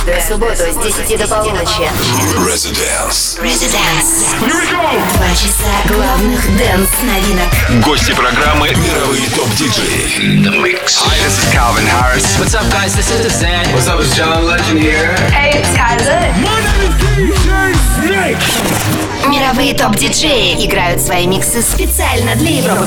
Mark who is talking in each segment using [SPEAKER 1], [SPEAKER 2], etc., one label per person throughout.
[SPEAKER 1] Каждую субботу с 10 до полуночи.
[SPEAKER 2] Residence.
[SPEAKER 1] 2 часа главных дэнс-новинок.
[SPEAKER 2] Гости программы мировые топ-диджеи. The Mix.
[SPEAKER 3] Hi, this is Calvin Harris.
[SPEAKER 4] What's up, guys? This is Zan.
[SPEAKER 3] What's up, it's John Legend here.
[SPEAKER 5] Hey, it's Kaiser.
[SPEAKER 1] Мировые топ-диджеи играют свои миксы специально для Европы+.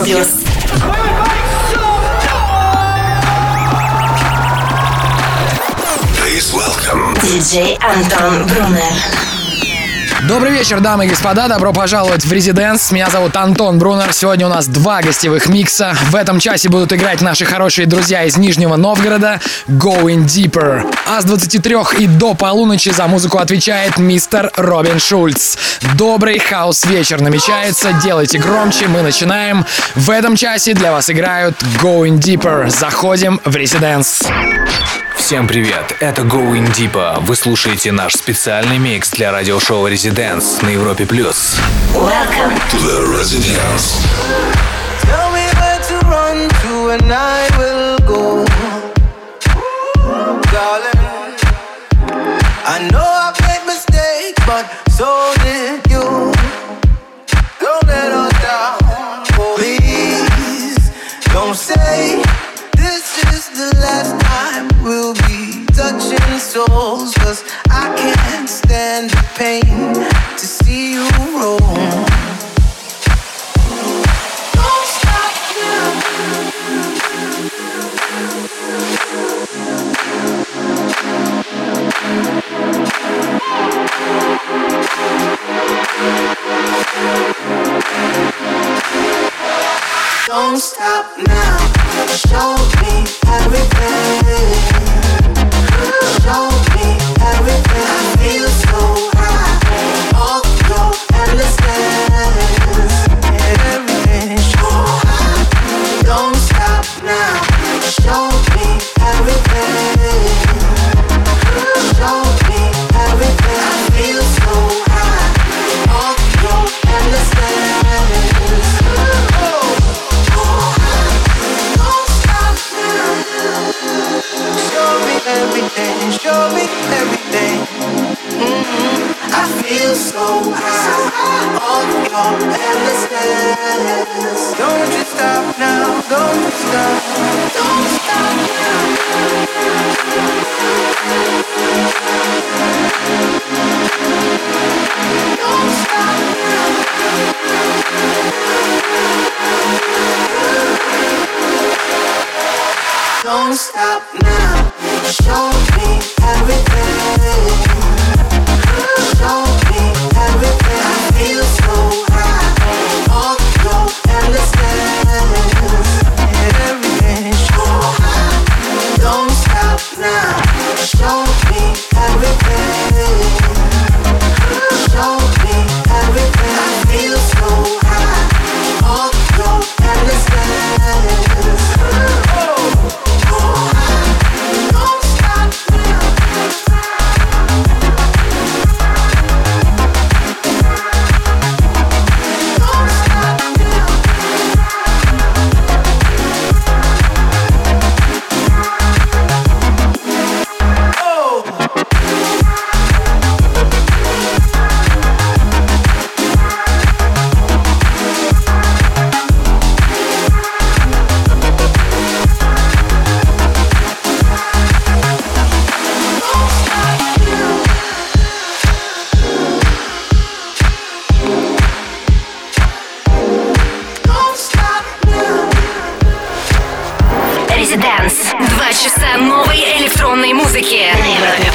[SPEAKER 2] Please welcome.
[SPEAKER 1] Диджей Антон Брунер.
[SPEAKER 6] Добрый вечер, дамы и господа, добро пожаловать в Residence. Меня зовут Антон Брунер. Сегодня у нас 2 гостевых микса. В этом часе будут играть наши хорошие друзья из Нижнего Новгорода Going Deeper. А с 23 и до полуночи за музыку отвечает мистер Робин Шульц. Добрый хаус-вечер намечается, делайте громче, мы начинаем. В этом часе для вас играют Going Deeper. Заходим в Residence.
[SPEAKER 7] Всем привет, это Going Deeper. Вы слушаете наш специальный микс для радиошоу Residence на Европе+.
[SPEAKER 1] Welcome
[SPEAKER 2] To the Residence.
[SPEAKER 8] Tell me where to run to and I will go. Darling, I know I've made mistakes, but so did you. Don't let us down. Please, don't say this is the last time we'll be touching souls, 'cause I can't stand the pain to see you roll. Don't stop now. Don't stop now. Show me everything. Show me everything. I feel so high. All your endlessness. Everything. Show high. Don't stop now. Show me everything. Show me everything. I feel so high. All your endlessness. Everything, show me everything. I feel so high. All your endlessness. Don't you stop now. Don't you stop. Don't stop now. Don't stop now. Don't stop now. Show me everything. Show me everything. I feel so high. All your endlessness. Everything. Show high. Don't stop now. Show me everything. Show me everything. I feel so high. All your endlessness.
[SPEAKER 1] Residence. 2 часа новой электронной музыки на Европе+.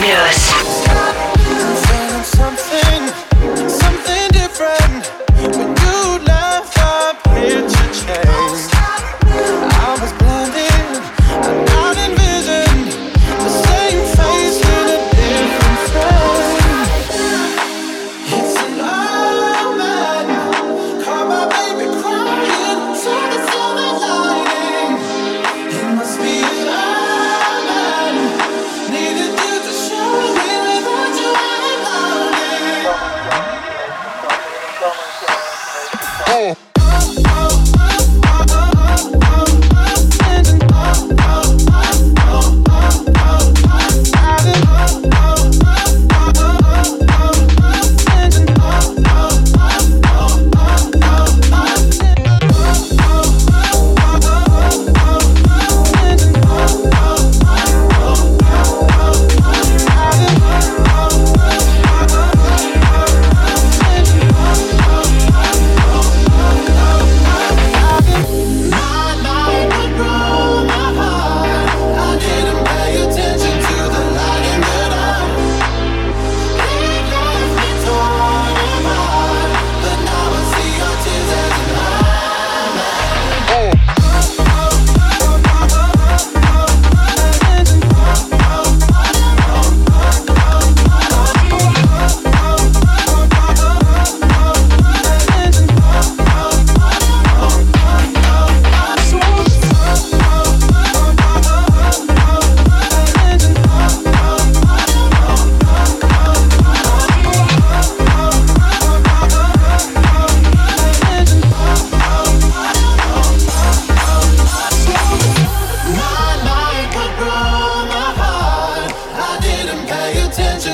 [SPEAKER 8] Something different. When you left, our picture changed. I was blinded, I not envisioned the same face in a different frame. It's an omen. Caught my baby crying, saw the silver lining. It must be an omen. Needed you to show me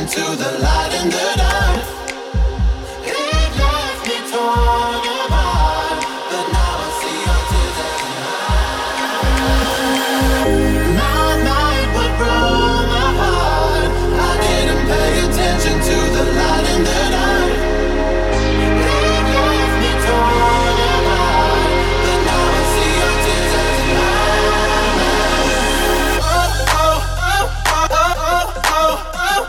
[SPEAKER 8] to the light in the dark. It left me torn apart, but now I see your tears as mine. My mind would broke my heart. I didn't pay attention to the light in the dark. It left me torn apart, but now I see your tears as mine. Oh, oh, oh, oh, oh, oh, oh.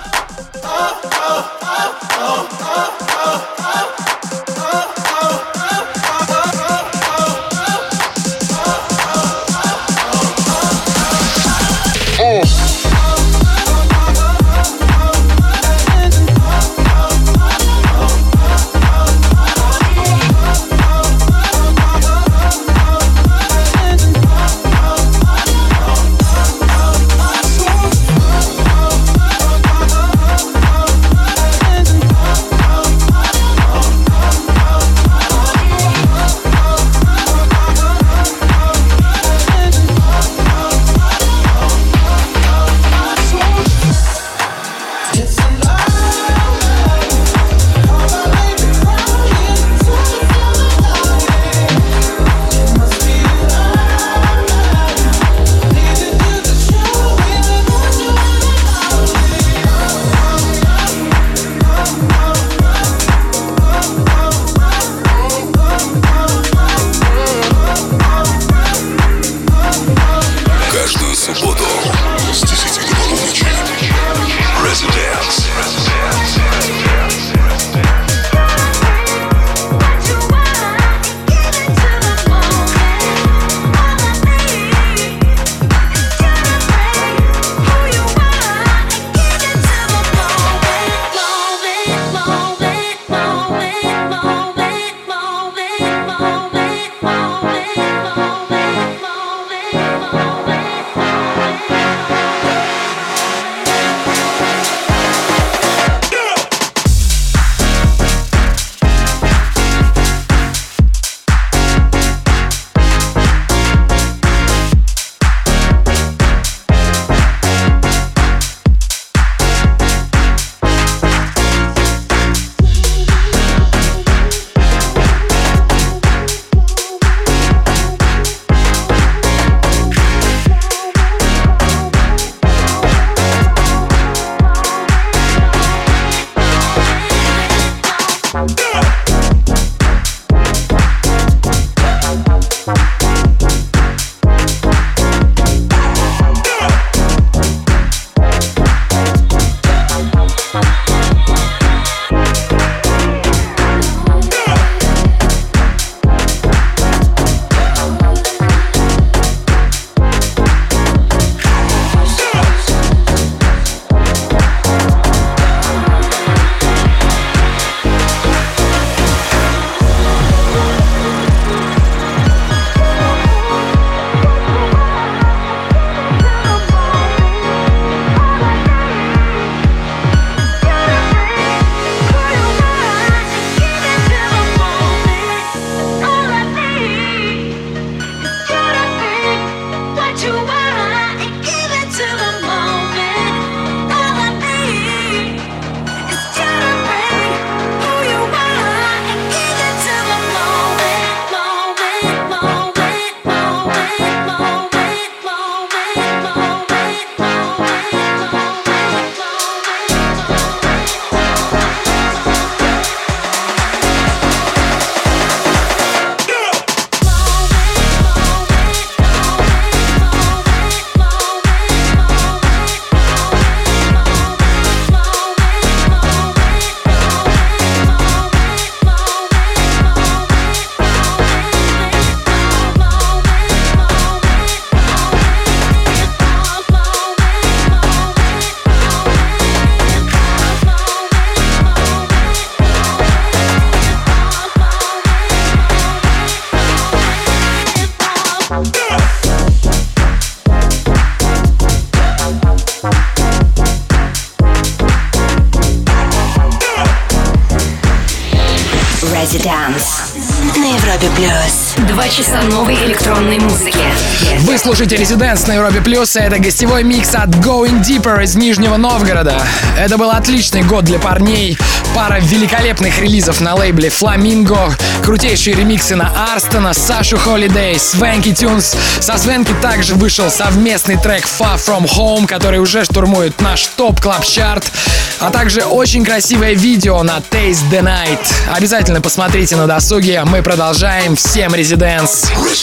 [SPEAKER 1] Residence. на Европе плюс.
[SPEAKER 4] 2 часа новой электронной музыки.
[SPEAKER 6] Вы слушаете Residence на Европе Плюс, и это гостевой микс от Going Deeper из Нижнего Новгорода. Это был отличный год для парней. Пара великолепных релизов на лейбле Flamingo, крутейшие ремиксы на Арстона, Сашу Холидей, Swanky Tunes. Со Swanky также вышел совместный трек Far From Home, который уже штурмует наш топ-клаб-чарт, а также очень красивое видео на Taste the Night. Обязательно посмотрите на досуге. Мы продолжаем. Всем Residence.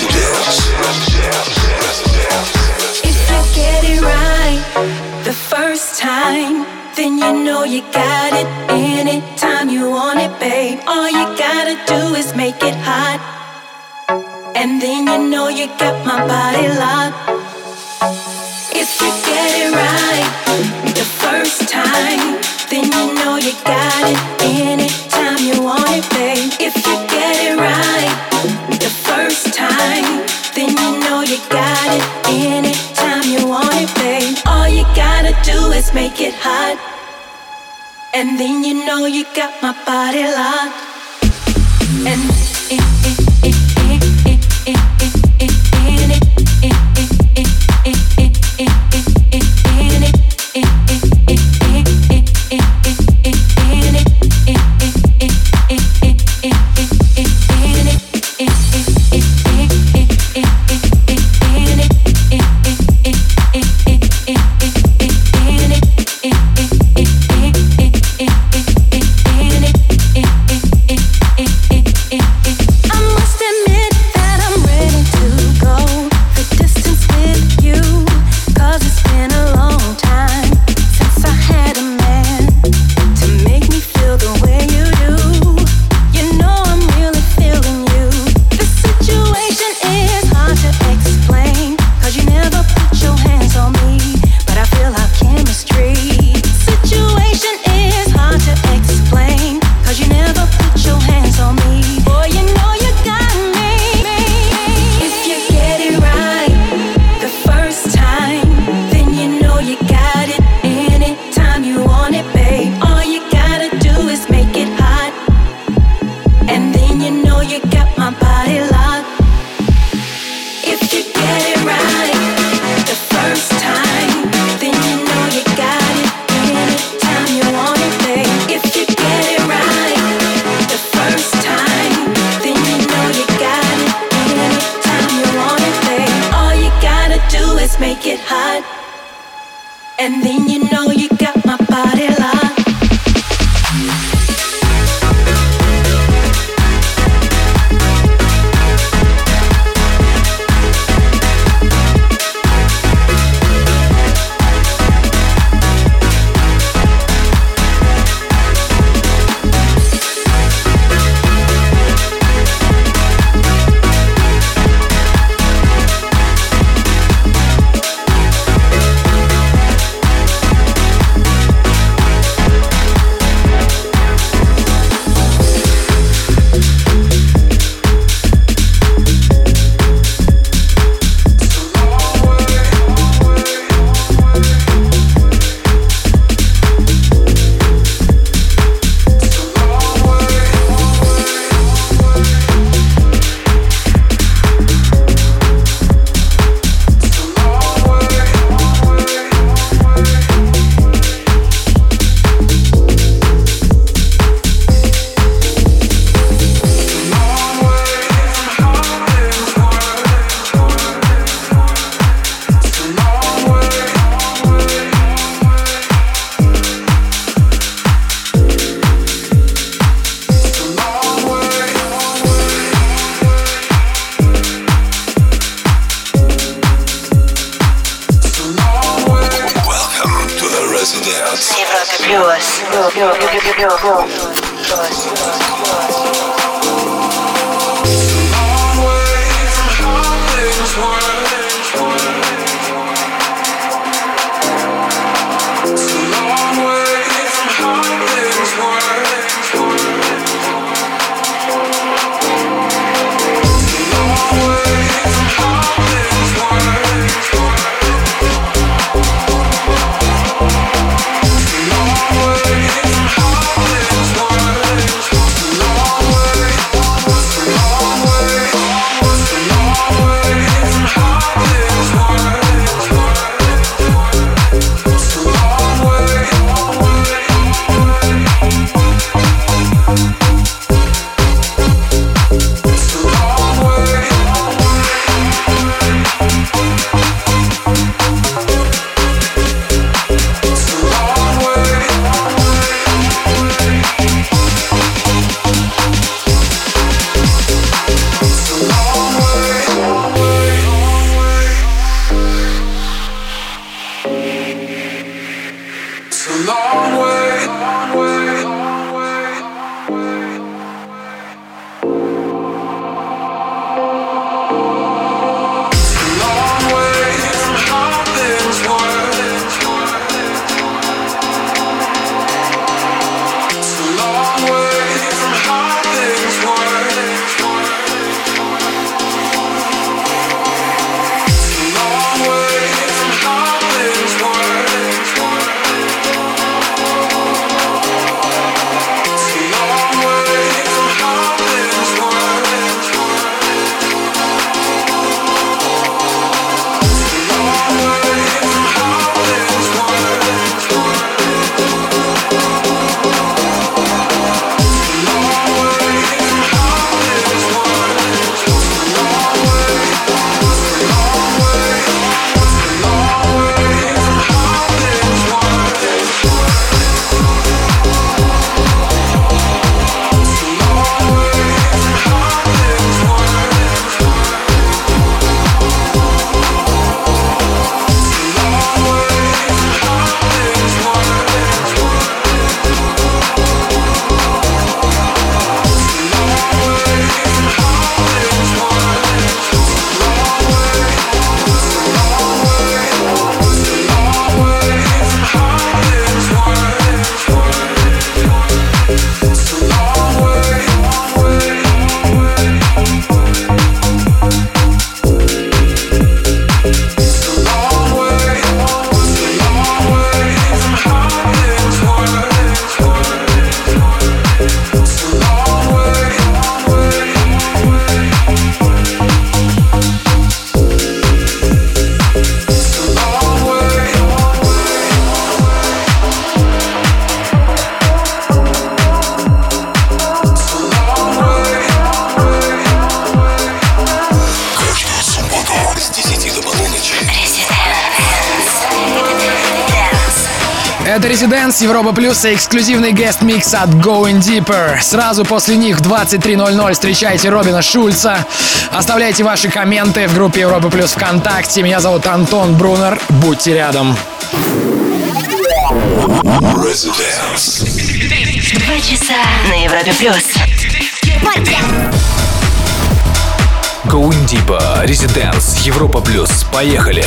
[SPEAKER 5] Then you know you got it. Anytime you want it, babe. All you gotta do is make it hot. And then you know you got my body locked. If you get it right the first time, then you know you got it. Anytime you want it, babe. If you get it right the first time, then you know you got it. Anytime you want it, babe. All you gotta do is make it hot. And then you know you got my body locked. And
[SPEAKER 6] Это Residence, Европа Плюс и эксклюзивный гест-микс от Going Deeper. Сразу после них в 23:00 встречайте Робина Шульца. Оставляйте ваши комменты в группе Европа Плюс ВКонтакте. Меня зовут Антон Брунер. Будьте рядом.
[SPEAKER 1] 2 часа на Европе Плюс.
[SPEAKER 7] Going Deeper, Residence, Европа Плюс. Поехали!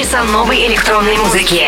[SPEAKER 4] часа новой электронной музыки.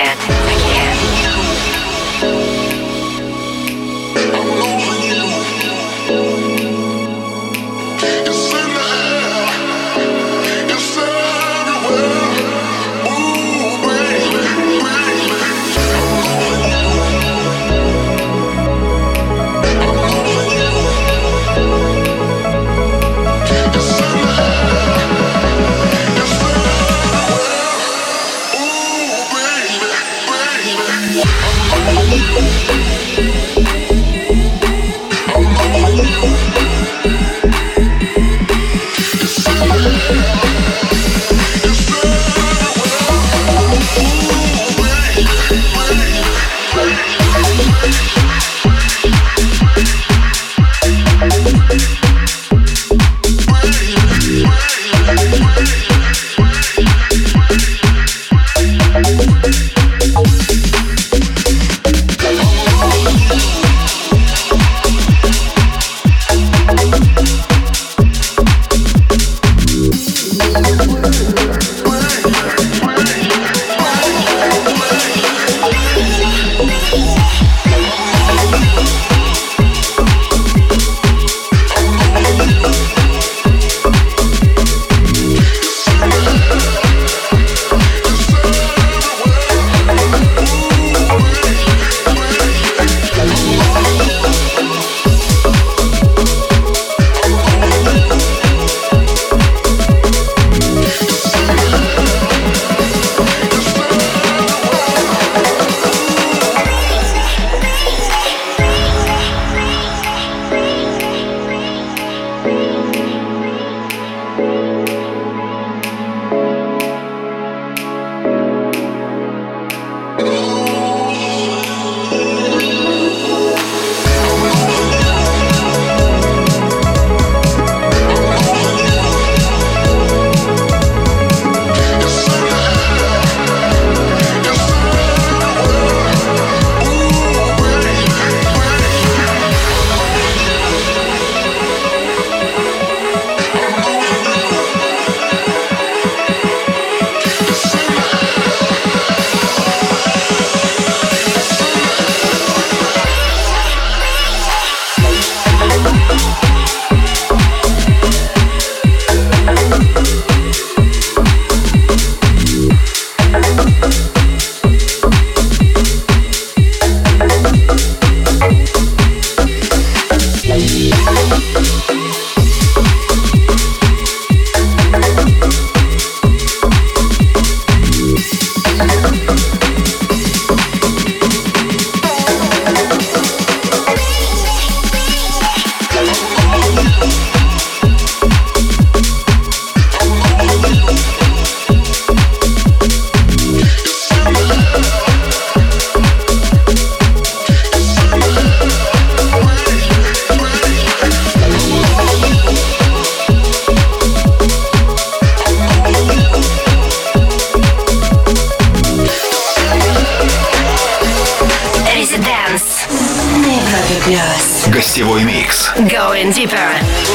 [SPEAKER 2] Гостевой микс.
[SPEAKER 4] Going deeper.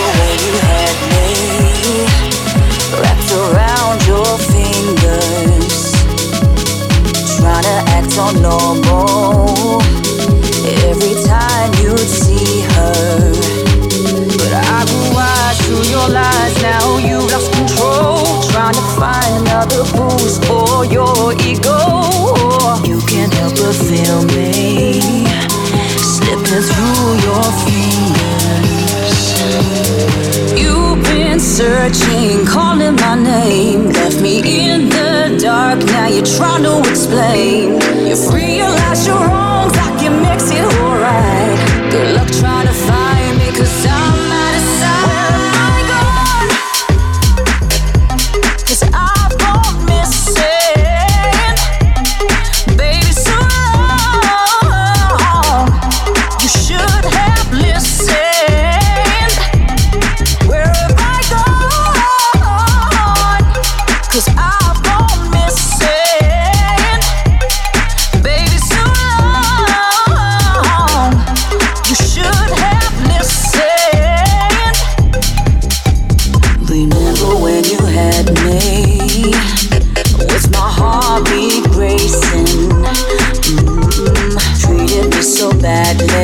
[SPEAKER 5] Wrapped around your fingers, trying to act all normal every time you'd see her. But I could watch through your lies. Now you lost control, trying to find another boost for your ego. You can't help but feel me slipping through your fingers. You've been searching, calling my name, left me in the dark. Now you're trying to explain. You've realized your wrongs, I can mix it alright. Good luck trying to find me, 'cause I'm out of sight. Where am I gone? 'Cause I've gone missing. Baby, so long, you should have listened. Where have I gone? 'Cause I've gone missing. Baby, so long.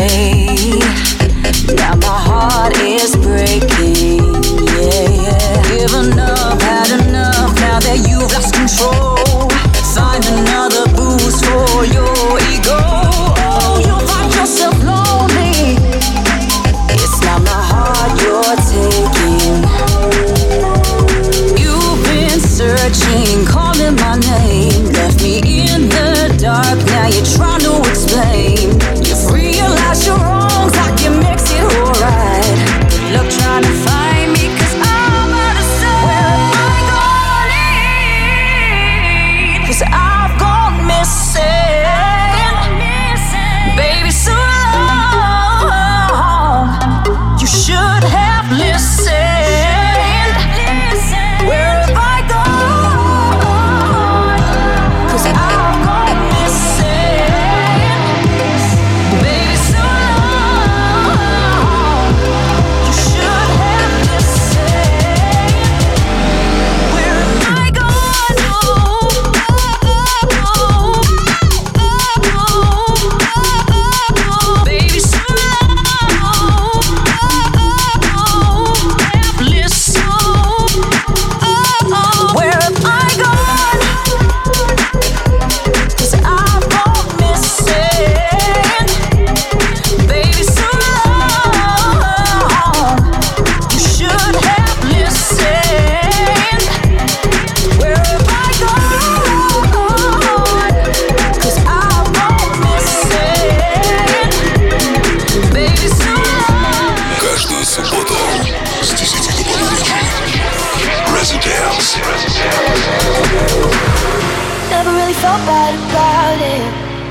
[SPEAKER 5] way. Now my heart is breaking, yeah. Given up, had enough, now that you've lost control. Find another boost for your ego. Oh, you find yourself lonely. It's not my heart you're taking. You've been searching, calling my name. Left me in the dark, now you're trying to explain. You've realized your wrongs, I can make it alright. Good luck trying to find me, 'cause I'm out of sight. Where am I going? 'Cause I've gone missing. Baby, so long. You should have listened. Where have I gone? 'Cause I've gone missing. Baby, so long. You should have listened. Where have I gone? Baby, so long. Have listened. Where have I gone? 'Cause I've gone missing. Baby, so long. You should have listened. Where have I gone? 'Cause I've gone missing. Baby, so long.
[SPEAKER 2] Каждую субботу с 10 до полуночи. Residence.
[SPEAKER 9] Never really felt bad about it,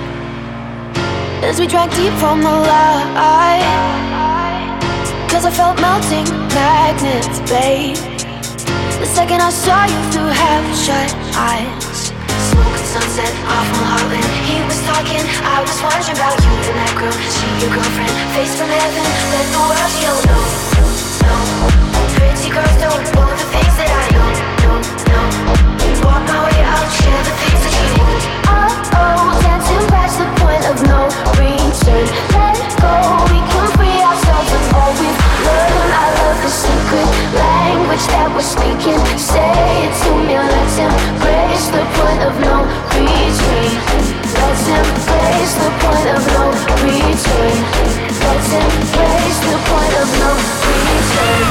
[SPEAKER 9] as we drank deep from the light. 'Cause I felt melting magnets, babe, the second I saw you through half-shut eyes.
[SPEAKER 1] Smoking sunset off Mulholland. He was talking, I was wondering about you and that girl. She your girlfriend, face from heaven. Let the world you don't know. No, pretty girls don't know the things that I know. No. Walk my way out, share the things that you want.
[SPEAKER 9] Oh, dancing past the point of no return. Let go, we can free ourselves of all we've learned. I love the secret language that we're speaking. Say it to me, let's embrace the point of no return. Let's embrace the point of no return. Let's embrace the point of no return.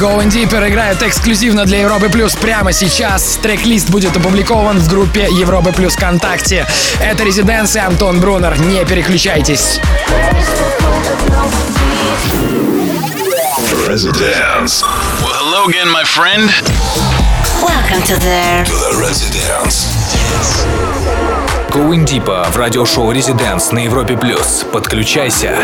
[SPEAKER 6] Going Deeper играет эксклюзивно для Европы Плюс прямо сейчас. Трек-лист будет опубликован в группе Европы Плюс ВКонтакте. Это Residence и Антон Брунер. Не переключайтесь.
[SPEAKER 2] Residence.
[SPEAKER 10] Well, hello again, my friend.
[SPEAKER 4] Welcome to the
[SPEAKER 2] Residence.
[SPEAKER 7] Going Deeper в радиошоу Residence на Европе Плюс. Подключайся.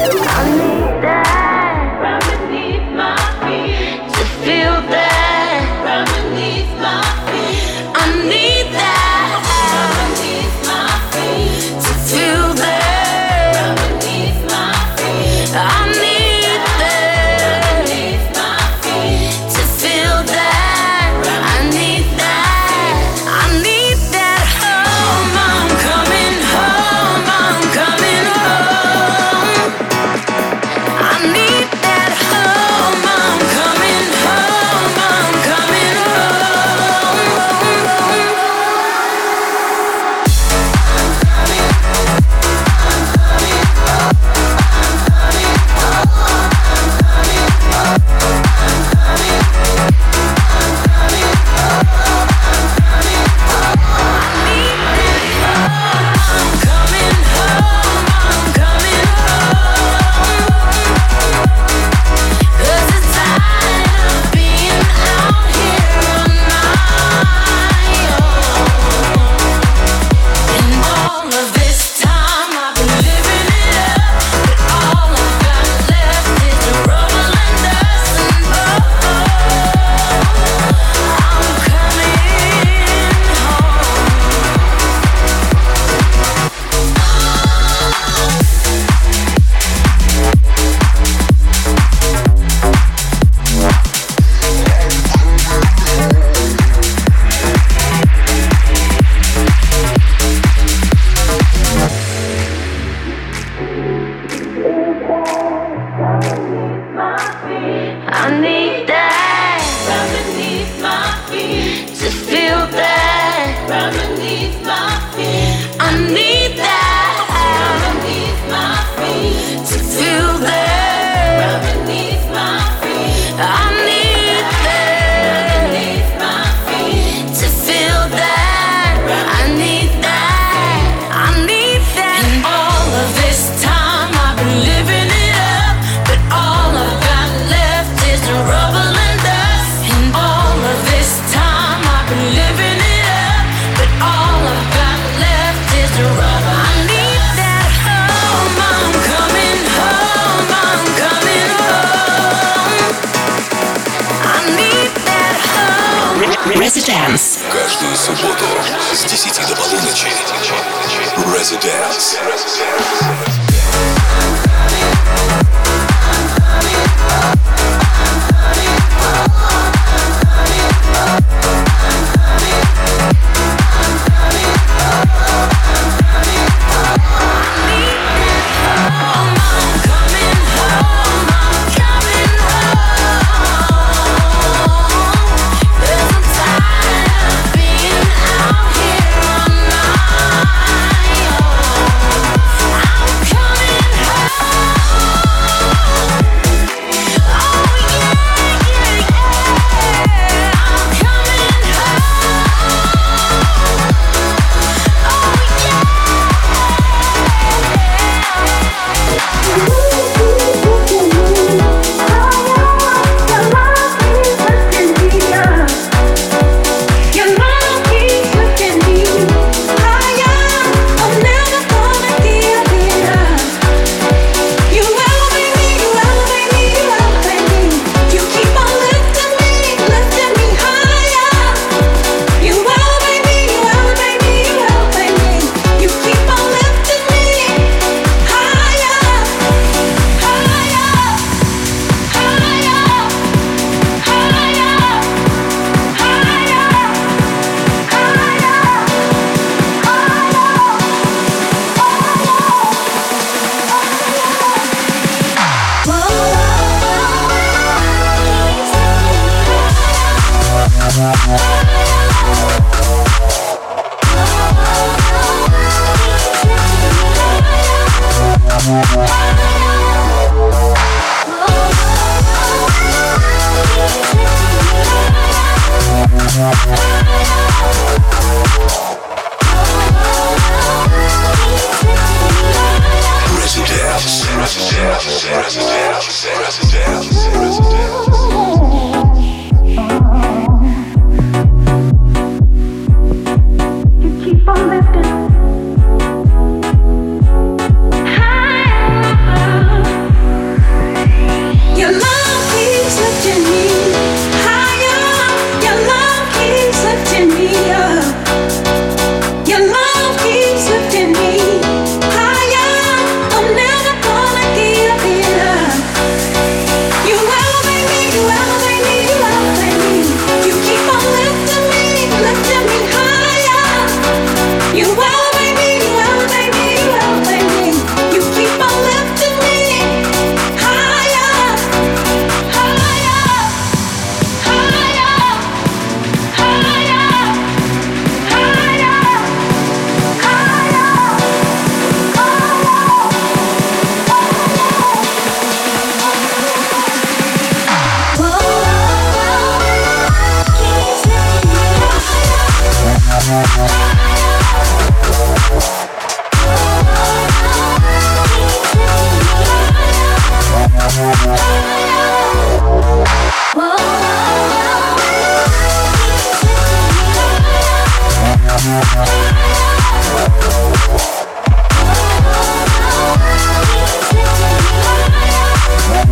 [SPEAKER 4] Residence.
[SPEAKER 2] Каждую субботу с 10 до полуночи. Residence.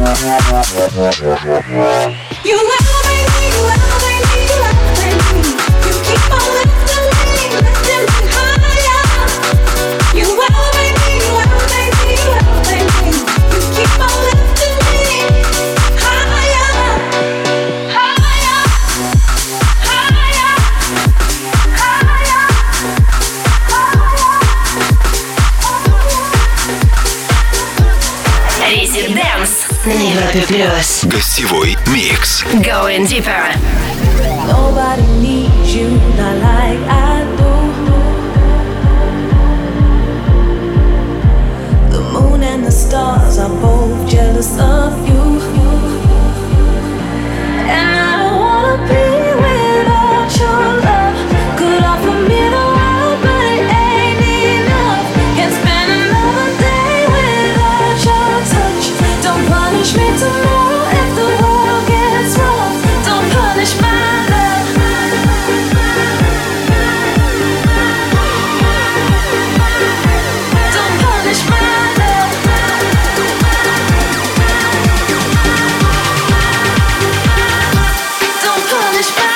[SPEAKER 2] Гостевой микс.
[SPEAKER 4] Going deeper.
[SPEAKER 5] Nobody needs you, not like I do. The moon and the stars are both jealous of you. And I don't wanna be without your love. Could offer me the world, but it ain't enough. Can't spend another day without your touch. Don't punish me tomorrow if the world gets rough. Don't punish my love. Don't punish my love. Don't punish my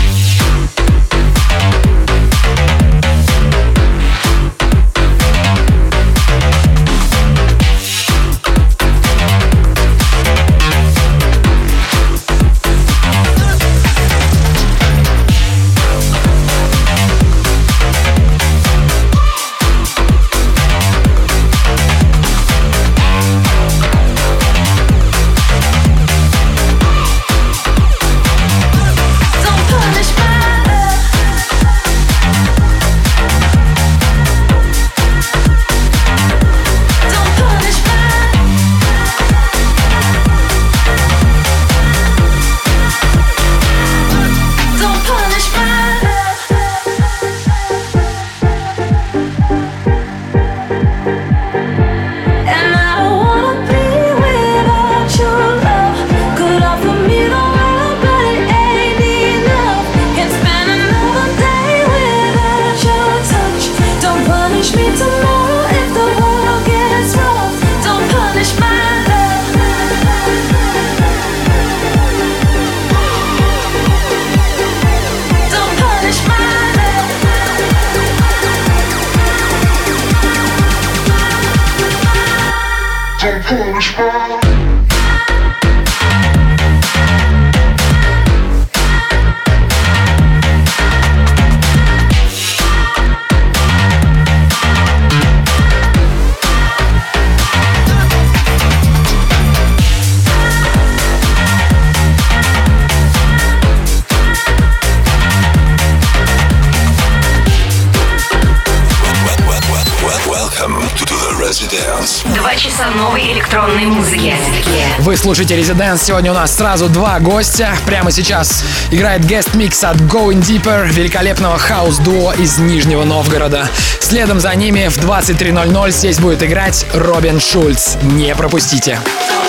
[SPEAKER 4] Новой электронной музыки.
[SPEAKER 6] Вы слушаете Residence. Сегодня у нас сразу два гостя. Прямо сейчас играет guest-микс от Going Deeper, великолепного хаус-дуо из Нижнего Новгорода. Следом за ними в 23:00 здесь будет играть Робин Шульц. Не пропустите.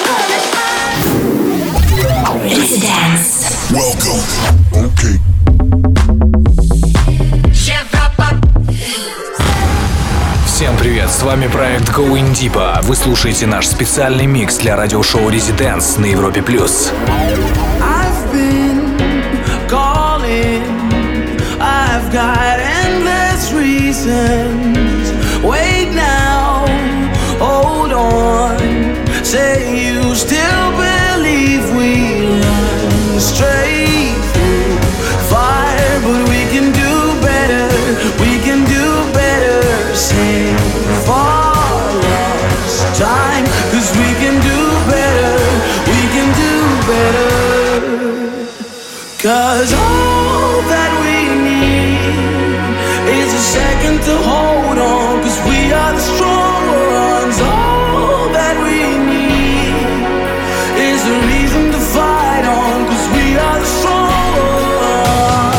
[SPEAKER 4] Residence.
[SPEAKER 2] Welcome. Okay.
[SPEAKER 7] Всем привет, с вами проект Going Deeper. Вы слушаете наш специальный микс для радиошоу Residence на Европе+.
[SPEAKER 8] I've been calling, I've got endless reasons. Wait now, hold on. Say you still believe we run straight through fire, but we can do better. We can do better. Save our lost time, 'cause we can do better. We can do better. 'Cause all that we need is a second to hold on. 'Cause we are the stronger ones. All that we need is a reason to fight on. 'Cause we are the stronger ones.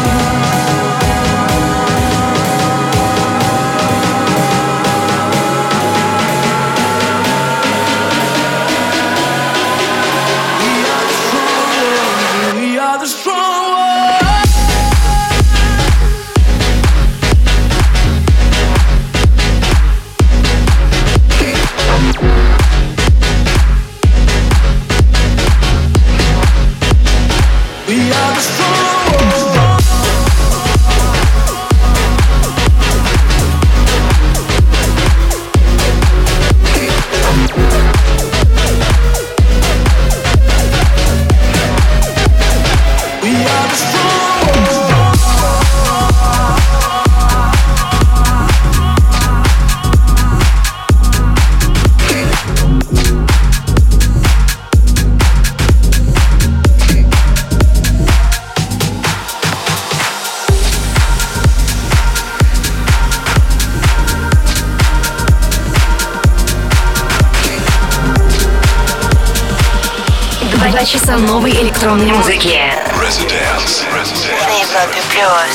[SPEAKER 8] We are the strong ones.
[SPEAKER 4] 2 часа новой электронной музыки.
[SPEAKER 2] Residence.
[SPEAKER 4] На Европе плюс.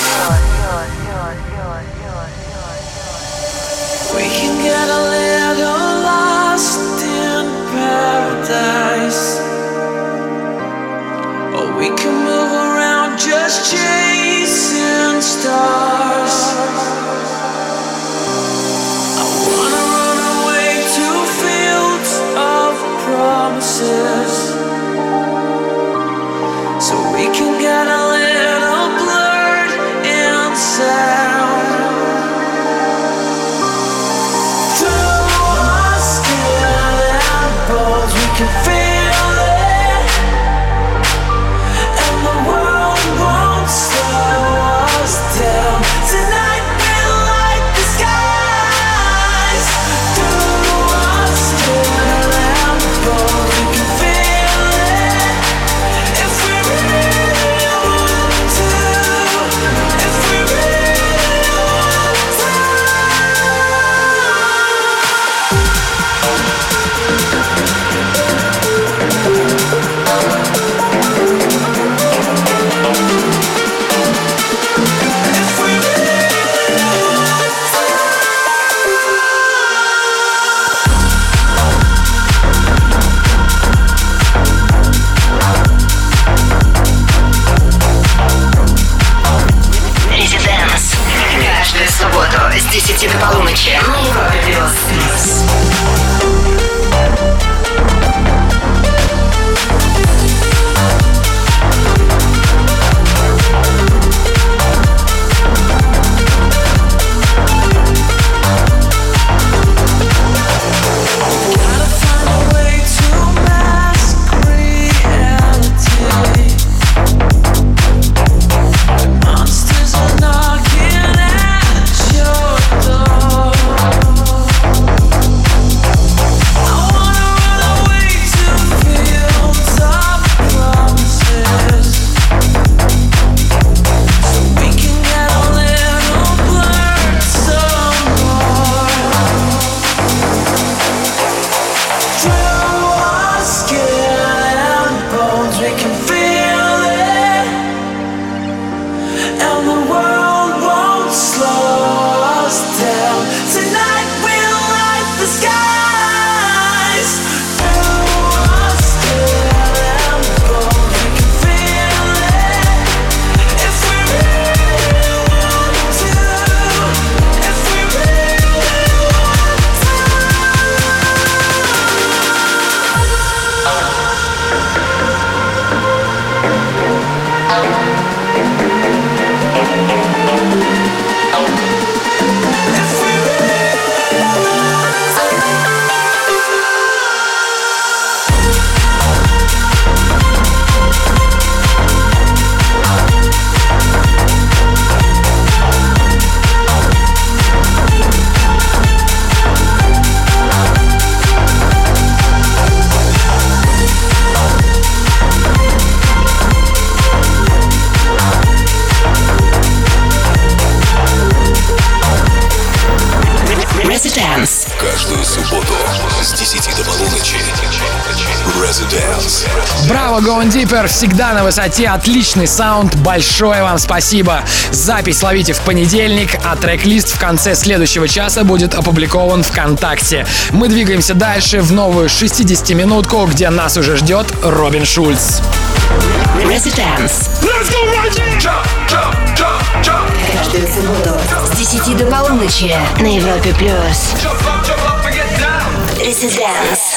[SPEAKER 8] We can get a little lost in paradise, or we can move around just chasing stars. I wanna run away to fields of promises, so we can get a little blurred in sound. We can feel it, and the world won't slow us down. Tonight we'll light the skies. Through our skin and bones, we can feel it. If we really want to, if we really want to.
[SPEAKER 4] Residence. Каждую субботу с 10 до полуночи на Европе плюс.
[SPEAKER 2] Каждую субботу с 10 до полуночи. Residence.
[SPEAKER 6] Браво, Going Deeper, всегда на высоте, отличный саунд, большое вам спасибо. Запись ловите в понедельник, а трек-лист в конце следующего часа будет опубликован ВКонтакте. Мы двигаемся дальше в новую 60-минутку, где нас уже ждет Робин Шульц.
[SPEAKER 4] Residence. Каждую субботу с 10 до полуночи на Европе плюс. Residence.